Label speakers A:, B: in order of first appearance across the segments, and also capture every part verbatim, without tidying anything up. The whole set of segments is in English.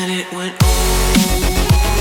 A: and it went oh.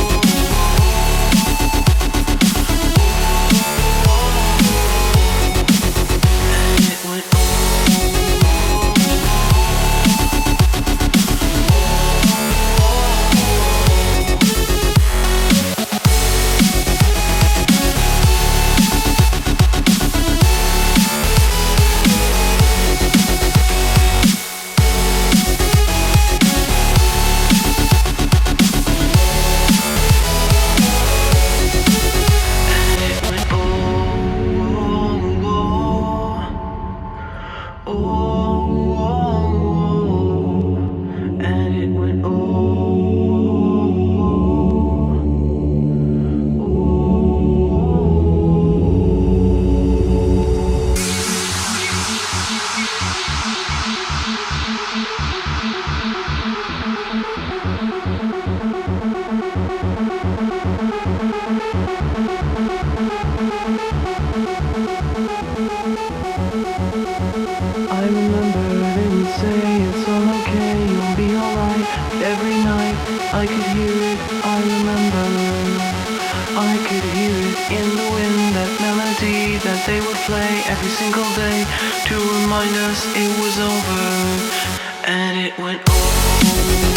A: I remember they would say it's all okay, you'll be alright. Every night I could hear it, I remember I could hear it in the wind, that melody that they would play every single day to remind us it was over. And it went oh.